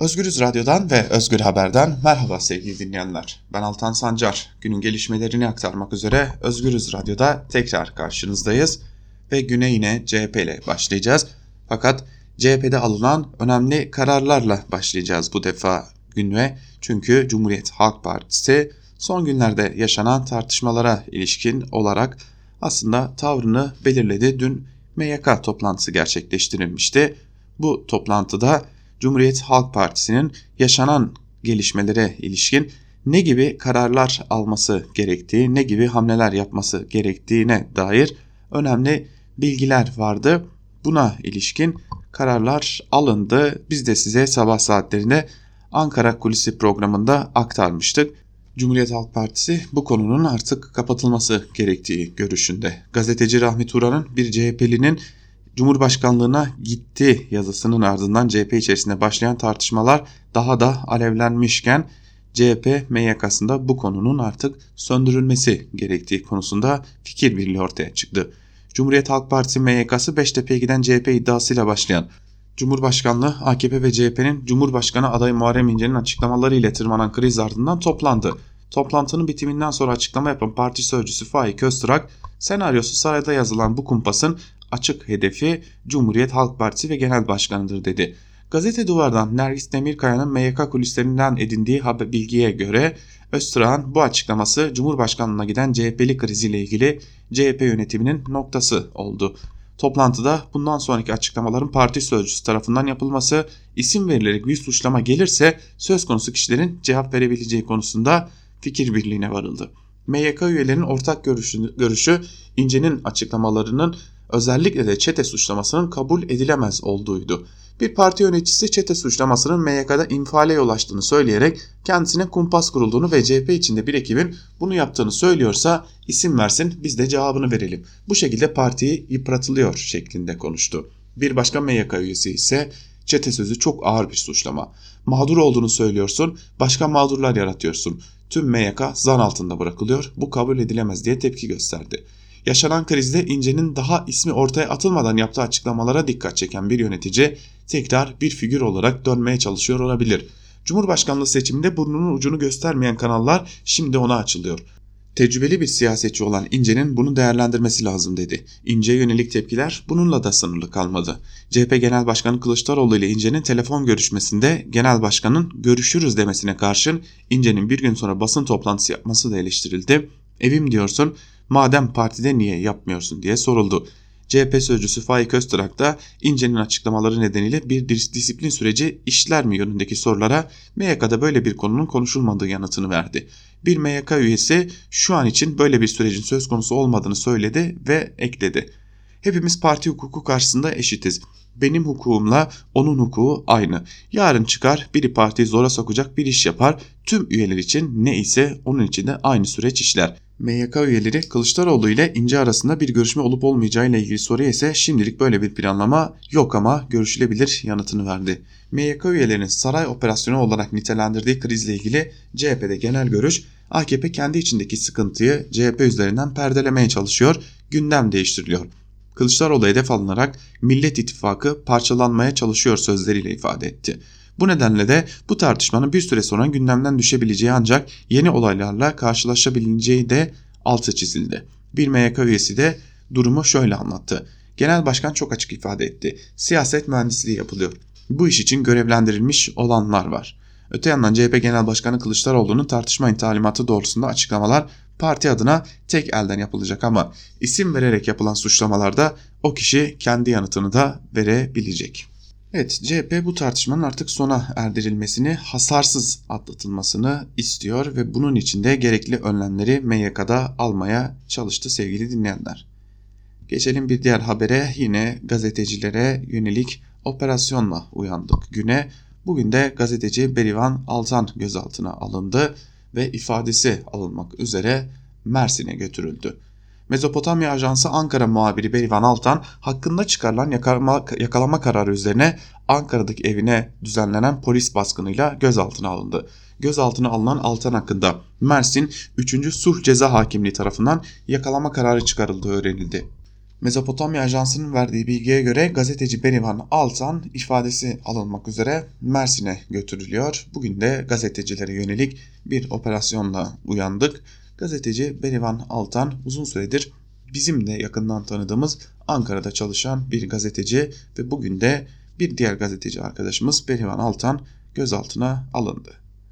Özgürüz Radyo'dan ve Özgür Haber'den merhaba sevgili dinleyenler. Ben Altan Sancar. Günün gelişmelerini aktarmak üzere Özgürüz Radyo'da tekrar karşınızdayız. Ve güne yine CHP ile başlayacağız. Fakat CHP'de alınan önemli kararlarla başlayacağız bu defa güne. Çünkü Cumhuriyet Halk Partisi son günlerde yaşanan tartışmalara ilişkin olarak aslında tavrını belirledi. Dün MYK toplantısı gerçekleştirilmişti. Bu toplantıda Cumhuriyet Halk Partisi'nin yaşanan gelişmelere ilişkin ne gibi kararlar alması gerektiği, ne gibi hamleler yapması gerektiğine dair önemli bilgiler vardı. Buna ilişkin kararlar alındı. Biz de size sabah saatlerinde Ankara Kulisi programında aktarmıştık. Cumhuriyet Halk Partisi bu konunun artık kapatılması gerektiği görüşünde. Gazeteci Rahmi Turan'ın bir CHP'linin Cumhurbaşkanlığına gitti yazısının ardından CHP içerisinde başlayan tartışmalar daha da alevlenmişken CHP MYK'sında bu konunun artık söndürülmesi gerektiği konusunda fikir birliği ortaya çıktı. Cumhuriyet Halk Partisi MYK'sı Beştepe'ye giden CHP iddiasıyla başlayan Cumhurbaşkanlığı AKP ve CHP'nin Cumhurbaşkanı adayı Muharrem İnce'nin açıklamaları ile tırmanan kriz ardından toplandı. Toplantının bitiminden sonra açıklama yapan parti sözcüsü Faik Öztürk, senaryosu sarayda yazılan bu kumpasın açık hedefi Cumhuriyet Halk Partisi ve Genel Başkanı'dır dedi. Gazete Duvar'dan Nergis Demirkaya'nın MYK kulislerinden edindiği bilgiye göre Öztürk'ün bu açıklaması Cumhurbaşkanlığına giden CHP'li kriziyle ilgili CHP yönetiminin noktası oldu. Toplantıda bundan sonraki açıklamaların parti sözcüsü tarafından yapılması, isim verilerek bir suçlama gelirse söz konusu kişilerin cevap verebileceği konusunda fikir birliğine varıldı. MYK üyelerinin ortak görüşü İnce'nin açıklamalarının özellikle de çete suçlamasının kabul edilemez olduğuydu. Bir parti yöneticisi çete suçlamasının MYK'da infiale yol açtığını söyleyerek kendisine kumpas kurulduğunu ve CHP içinde bir ekibin bunu yaptığını söylüyorsa isim versin, biz de cevabını verelim. Bu şekilde partiyi yıpratılıyor şeklinde konuştu. Bir başka MYK üyesi ise çete sözü çok ağır bir suçlama. Mağdur olduğunu söylüyorsun, başka mağdurlar yaratıyorsun. Tüm MYK zan altında bırakılıyor, bu kabul edilemez diye tepki gösterdi. Yaşanan krizde İnce'nin daha ismi ortaya atılmadan yaptığı açıklamalara dikkat çeken bir yönetici tekrar bir figür olarak dönmeye çalışıyor olabilir. Cumhurbaşkanlığı seçiminde burnunun ucunu göstermeyen kanallar şimdi ona açılıyor. Tecrübeli bir siyasetçi olan İnce'nin bunu değerlendirmesi lazım dedi. İnce'ye yönelik tepkiler bununla da sınırlı kalmadı. CHP Genel Başkanı Kılıçdaroğlu ile İnce'nin telefon görüşmesinde Genel Başkan'ın görüşürüz demesine karşın İnce'nin bir gün sonra basın toplantısı yapması da eleştirildi. Evim diyorsun, madem partide niye yapmıyorsun diye soruldu. CHP sözcüsü Faik Öztürk da İnce'nin açıklamaları nedeniyle bir disiplin süreci işler mi yönündeki sorulara MYK'da böyle bir konunun konuşulmadığı yanıtını verdi. Bir MYK üyesi şu an için böyle bir sürecin söz konusu olmadığını söyledi ve ekledi. Hepimiz parti hukuku karşısında eşitiz. Benim hukukumla onun hukuku aynı. Yarın çıkar biri partiyi zora sokacak bir iş yapar. Tüm üyeler için ne ise onun için de aynı süreç işler. MYK üyeleri Kılıçdaroğlu ile İnce arasında bir görüşme olup olmayacağı ile ilgili soruya ise şimdilik böyle bir planlama yok ama görüşülebilir yanıtını verdi. MYK üyelerinin saray operasyonu olarak nitelendirdiği krizle ilgili CHP'de genel görüş, AKP kendi içindeki sıkıntıyı CHP üzerinden perdelemeye çalışıyor, gündem değiştiriliyor. Kılıçdaroğlu hedef alınarak Millet İttifakı parçalanmaya çalışıyor sözleriyle ifade etti. Bu nedenle de bu tartışmanın bir süre sonra gündemden düşebileceği ancak yeni olaylarla karşılaşabileceği de altı çizildi. Bir MYK üyesi de durumu şöyle anlattı. Genel Başkan çok açık ifade etti. Siyaset mühendisliği yapılıyor. Bu iş için görevlendirilmiş olanlar var. Öte yandan CHP Genel Başkanı Kılıçdaroğlu'nun tartışma talimatı doğrultusunda açıklamalar parti adına tek elden yapılacak ama isim vererek yapılan suçlamalarda o kişi kendi yanıtını da verebilecek. Evet, CHP bu tartışmanın artık sona erdirilmesini, hasarsız atlatılmasını istiyor ve bunun için de gerekli önlemleri MYK'da almaya çalıştı sevgili dinleyenler. Geçelim bir diğer habere, yine gazetecilere yönelik operasyonla uyandık güne. Bugün de gazeteci Berivan Altan gözaltına alındı ve ifadesi alınmak üzere Mersin'e götürüldü. Mezopotamya Ajansı Ankara muhabiri Berivan Altan hakkında çıkarılan yakalama kararı üzerine Ankara'daki evine düzenlenen polis baskınıyla gözaltına alındı. Gözaltına alınan Altan hakkında Mersin 3. Sulh Ceza Hakimliği tarafından yakalama kararı çıkarıldığı öğrenildi. Mezopotamya Ajansı'nın verdiği bilgiye göre gazeteci Berivan Altan ifadesi alınmak üzere Mersin'e götürülüyor. Bugün de gazetecilere yönelik bir operasyonla uyandık. Gazeteci Berivan Altan uzun süredir bizim de yakından tanıdığımız Ankara'da çalışan bir gazeteci ve bugün de bir diğer gazeteci arkadaşımız Berivan Altan gözaltına alındı.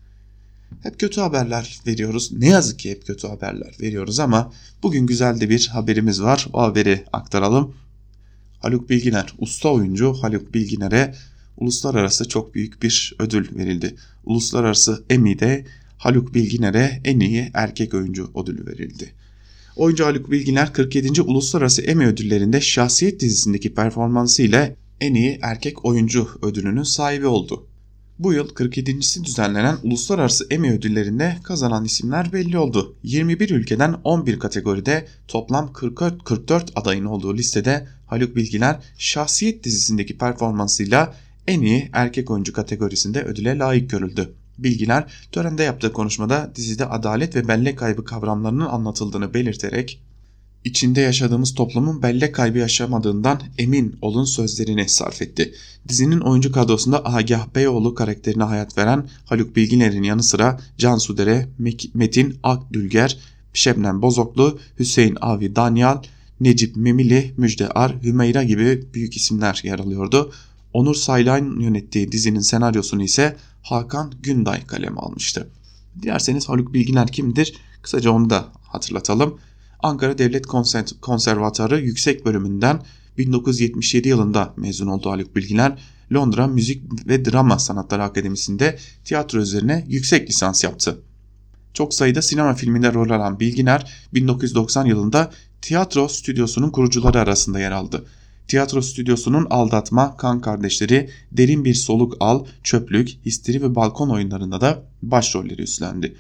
Hep kötü haberler veriyoruz. Ne yazık ki hep kötü haberler veriyoruz ama bugün güzel de bir haberimiz var. O haberi aktaralım. Haluk Bilginer, usta oyuncu Haluk Bilginer'e uluslararası çok büyük bir ödül verildi. Uluslararası Emmy'de Haluk Bilginer'e en iyi erkek oyuncu ödülü verildi. Oyuncu Haluk Bilginer 47. Uluslararası Emmy ödüllerinde Şahsiyet dizisindeki performansı ile en iyi erkek oyuncu ödülünün sahibi oldu. Bu yıl 47.si düzenlenen Uluslararası Emmy ödüllerinde kazanan isimler belli oldu. 21 ülkeden 11 kategoride toplam 44 adayın olduğu listede Haluk Bilginer Şahsiyet dizisindeki performansıyla en iyi erkek oyuncu kategorisinde ödüle layık görüldü. Bilginer törende yaptığı konuşmada dizide adalet ve bellek kaybı kavramlarının anlatıldığını belirterek İçinde yaşadığımız toplumun bellek kaybı yaşamadığından emin olun sözlerini sarf etti. Dizinin oyuncu kadrosunda Agah Beyoğlu karakterine hayat veren Haluk Bilginer'in yanı sıra Cansu Dere, Metin Akdülger, Şebnem Bozoklu, Hüseyin Avi Danyal, Necip Memili, Müjde Ar, Hümeyra gibi büyük isimler yer alıyordu. Onur Saylan yönettiği dizinin senaryosunu ise Hakan Günday kaleme almıştı. Dilerseniz Haluk Bilginer kimdir? Kısaca onu da hatırlatalım. Ankara Devlet Konservatuarı Yüksek Bölümünden 1977 yılında mezun oldu Haluk Bilginer. Londra Müzik ve Drama Sanatları Akademisi'nde tiyatro üzerine yüksek lisans yaptı. Çok sayıda sinema filminde rol alan Bilginer 1990 yılında tiyatro stüdyosunun kurucuları arasında yer aldı. Tiyatro stüdyosunun Aldatma, Kan Kardeşleri, Derin Bir Soluk Al, Çöplük, Histeri ve Balkon oyunlarında da başrolleri üstlendi.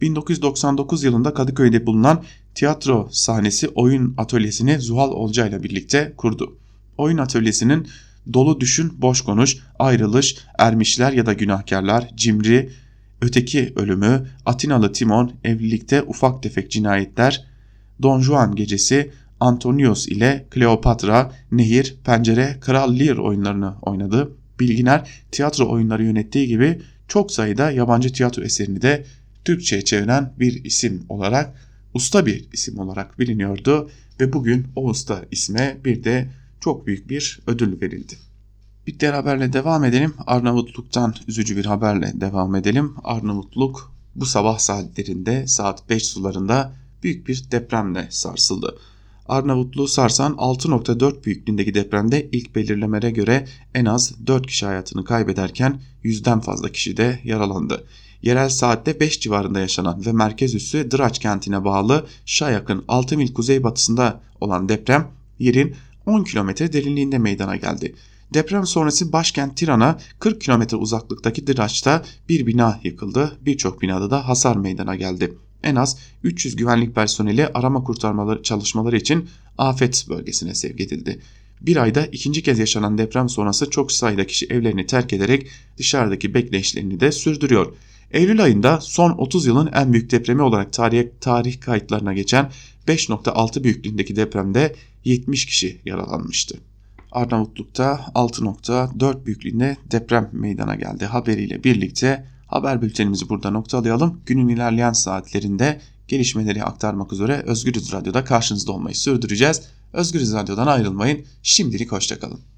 1999 yılında Kadıköy'de bulunan tiyatro sahnesi oyun atölyesini Zuhal Olca ile birlikte kurdu. Oyun atölyesinin Dolu Düşün Boş Konuş, Ayrılış, Ermişler ya da Günahkarlar, Cimri, Öteki Ölümü, Atinalı Timon, Evlilikte Ufak Tefek Cinayetler, Don Juan Gecesi, Antonios ile Kleopatra, Nehir, Pencere, Kral Lear oyunlarını oynadı. Bilginer tiyatro oyunları yönettiği gibi çok sayıda yabancı tiyatro eserini de Türkçe'ye çeviren bir isim olarak, usta bir isim olarak biliniyordu ve bugün o usta isme bir de çok büyük bir ödül verildi. Bir diğer haberle devam edelim. Arnavutluk'tan üzücü bir haberle devam edelim. Arnavutluk bu sabah saatlerinde saat 5 sularında büyük bir depremle sarsıldı. Arnavutluğu sarsan 6.4 büyüklüğündeki depremde ilk belirlemelere göre en az 4 kişi hayatını kaybederken 100'den fazla kişi de yaralandı. Yerel saatte 5 civarında yaşanan ve merkez üssü Draç kentine bağlı Şayak'ın 6 mil kuzeybatısında olan deprem yerin 10 kilometre derinliğinde meydana geldi. Deprem sonrası başkent Tiran'a 40 kilometre uzaklıktaki Draç'ta bir bina yıkıldı. Birçok binada da hasar meydana geldi. En az 300 güvenlik personeli arama kurtarmaları çalışmaları için afet bölgesine sevk edildi. Bir ayda ikinci kez yaşanan deprem sonrası çok sayıda kişi evlerini terk ederek dışarıdaki bekleyişlerini de sürdürüyor. Eylül ayında son 30 yılın en büyük depremi olarak tarih kayıtlarına geçen 5.6 büyüklüğündeki depremde 70 kişi yaralanmıştı. Arnavutluk'ta 6.4 büyüklüğünde deprem meydana geldi haberiyle birlikte haber bültenimizi burada noktalayalım. Günün ilerleyen saatlerinde gelişmeleri aktarmak üzere Özgürüz Radyo'da karşınızda olmayı sürdüreceğiz. Özgürüz Radyo'dan ayrılmayın. Şimdilik hoşça kalın.